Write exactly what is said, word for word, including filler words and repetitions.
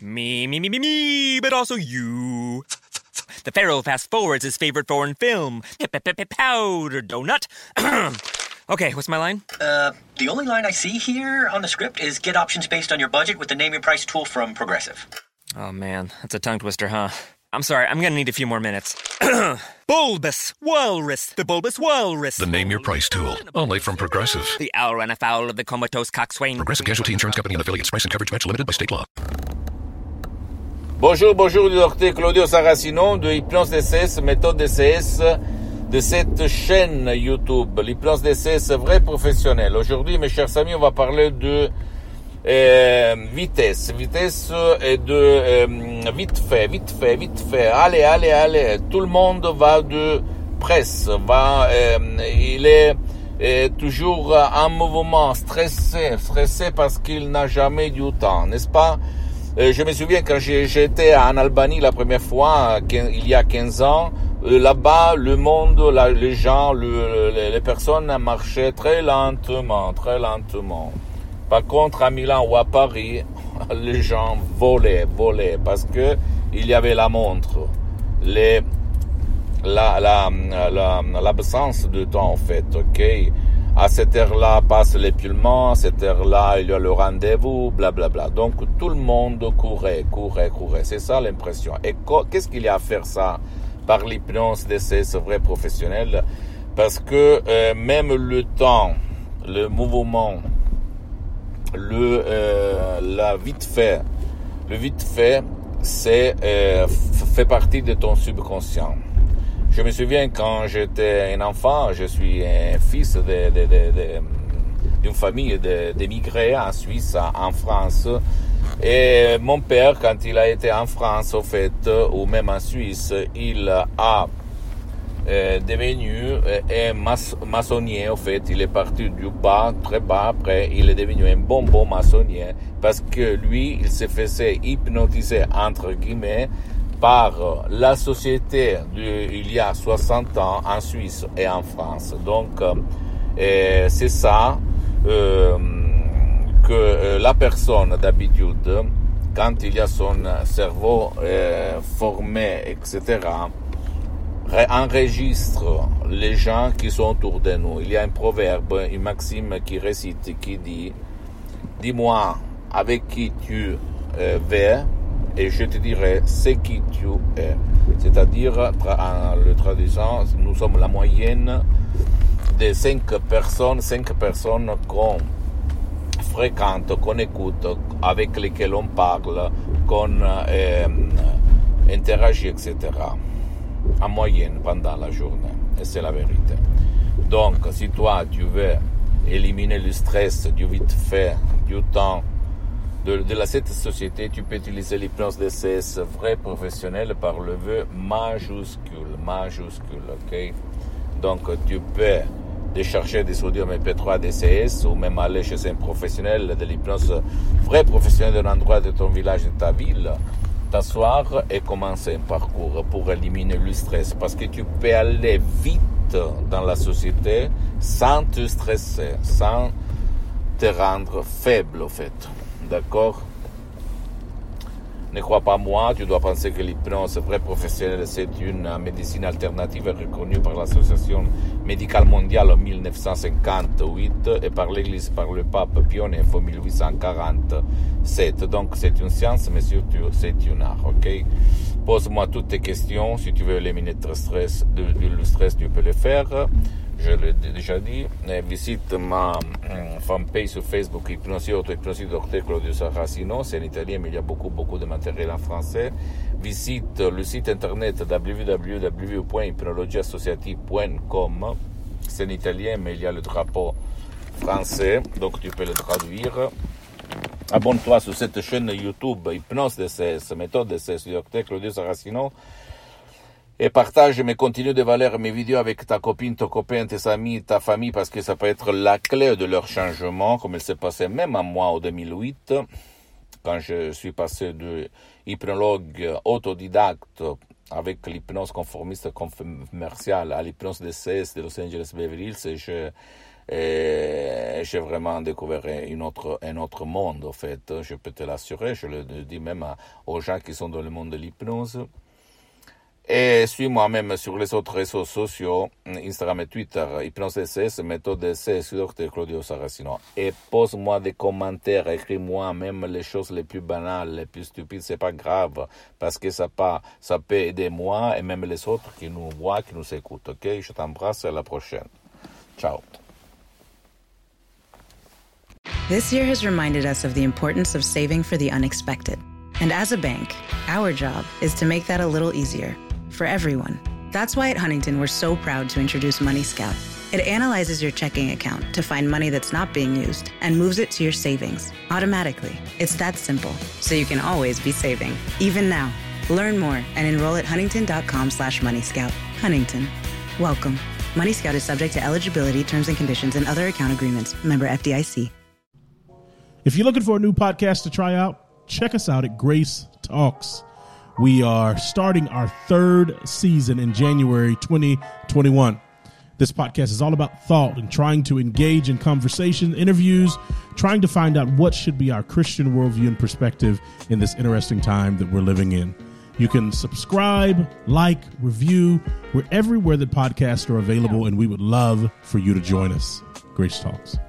Me, me, me, me, me, but also you. The Pharaoh fast forwards his favorite foreign film, Powder Donut. Okay, what's my line? Uh, the only line I see here on the script is get options based on your budget with the Name Your Price tool from Progressive. Oh man, that's a tongue twister, huh? I'm sorry, I'm gonna need a few more minutes. Bulbous Walrus, the Bulbous Walrus. The Name Your Price tool, only from Progressive. The owl ran afoul of the comatose coxswain. Progressive Casualty Insurance Company and affiliates. Price and coverage match limited by state law. Bonjour, bonjour du docteur Claudio Saracino de Hypnose D C S, méthode D C S de cette chaîne YouTube, l'hypnose D C S vrai professionnel. Aujourd'hui, mes chers amis, on va parler de euh, vitesse, vitesse et de euh, vite fait, vite fait, vite fait. Allez, allez, allez. Tout le monde va de presse, va, euh, il est euh, toujours en mouvement, stressé, stressé parce qu'il n'a jamais du temps, n'est-ce pas? Euh, je me souviens quand j'ai, j'étais en Albanie la première fois, il y a quinze ans, euh, là-bas, le monde, la, les gens, le, les, les personnes marchaient très lentement, très lentement. Par contre, à Milan ou à Paris, les gens volaient, volaient, parce que il y avait la montre, les, la, la, la, l'absence de temps, en fait, ok? À cette heure-là passe l'épilement, à cette heure-là il y a le rendez-vous, blablabla. Donc tout le monde courait, courait, courait. C'est ça l'impression. Et qu'est-ce qu'il y a à faire ça par l'hypnose D C S vrai professionnel? Parce que euh, même le temps, le mouvement, le euh, la vite fait, le vite fait, c'est euh, fait partie de ton subconscient. Je me souviens quand j'étais un enfant, je suis un fils de, de, de, de, d'une famille d'émigrés en Suisse, en France. Et mon père, quand il a été en France, au fait, ou même en Suisse, il a euh, devenu un mas- maçonnier, au fait. Il est parti du bas, très bas, après, il est devenu un bon, bon maçonnier, parce que lui, il se faisait hypnotiser, entre guillemets, par la société de, il y a soixante ans en Suisse et en France. Donc, euh, c'est ça euh, que euh, la personne d'habitude, quand il y a son cerveau euh, formé, et cetera, enregistre les gens qui sont autour de nous. Il y a un proverbe, une maxime qui récite, qui dit « Dis-moi avec qui tu euh, vas, et je te dirai ce qui tu es ». C'est-à-dire, en le traduisant, nous sommes la moyenne des cinq personnes, cinq personnes qu'on fréquente, qu'on écoute, avec lesquelles on parle, qu'on euh, interagit, et cetera. En moyenne, pendant la journée. Et c'est la vérité. Donc, si toi, tu veux éliminer le stress du vite fait, du temps, De, de la, cette société, tu peux utiliser l'hypnose D C S vrai professionnel par le vœu majuscule, majuscule, ok? Donc, tu peux décharger des audios M P trois D C S ou même aller chez un professionnel de l'hypnose vrai professionnel d'un endroit de ton village, de ta ville, t'asseoir et commencer un parcours pour éliminer le stress. Parce que tu peux aller vite dans la société sans te stresser, sans te rendre faible, au fait. D'accord? Ne crois pas moi, tu dois penser que l'hypnose vrai professionnelle, c'est une médecine alternative reconnue par l'Association médicale mondiale en dix-neuf cent cinquante-huit et par l'Église, par le pape Pie neuf en dix-huit cent quarante-sept. Donc c'est une science, mais surtout c'est un art, ok? Pose-moi toutes tes questions, si tu veux éliminer le stress, de, de, le stress, tu peux le faire. Je l'ai déjà dit. Visite ma euh, fanpage sur Facebook, Hypnosie Auto, Hypnosie Docteur Claudio Saracino. C'est en italien, mais il y a beaucoup, beaucoup de matériel en français. Visite le site internet w w w point hypnologie associative point com. C'est en italien, mais il y a le drapeau français, donc tu peux le traduire. Abonne-toi sur cette chaîne YouTube, Hypnose D C S, méthode D C S, Docteur Claudio Saracino. Et partage, mais continue de valeur mes vidéos avec ta copine, ton copain, tes amis, ta famille, parce que ça peut être la clé de leur changement, comme il s'est passé même à moi en deux mille huit, quand je suis passé de hypnologue autodidacte avec l'hypnose conformiste commerciale à l'hypnose D C S de Los Angeles Beverly Hills, et je, Et j'ai vraiment découvert une autre, un autre monde, en fait. Je peux te l'assurer, je le dis même à, aux gens qui sont dans le monde de l'hypnose. Et suis-moi même sur les autres réseaux sociaux, Instagram et Twitter, Hypnose S S, méthode S S, docteur Claudio Saracino. Et pose-moi des commentaires, écris-moi même les choses les plus banales, les plus stupides, c'est pas grave, parce que ça, pas, ça peut aider moi et même les autres qui nous voient, qui nous écoutent, ok? Je t'embrasse, à la prochaine. Ciao. This year has reminded us of the importance of saving for the unexpected. And as a bank, our job is to make that a little easier for everyone. That's why at Huntington, we're so proud to introduce Money Scout. It analyzes your checking account to find money that's not being used and moves it to your savings automatically. It's that simple, so you can always be saving, even now. Learn more and enroll at huntington.com slash Money Scout. Huntington. Welcome. Money Scout is subject to eligibility, terms and conditions, and other account agreements. Member F D I C. If you're looking for a new podcast to try out, check us out at Grace Talks. We are starting our third season in January twenty twenty-one. This podcast is all about thought and trying to engage in conversation, interviews, trying to find out what should be our Christian worldview and perspective in this interesting time that we're living in. You can subscribe, like, review. We're everywhere that podcasts are available, and we would love for you to join us. Grace Talks.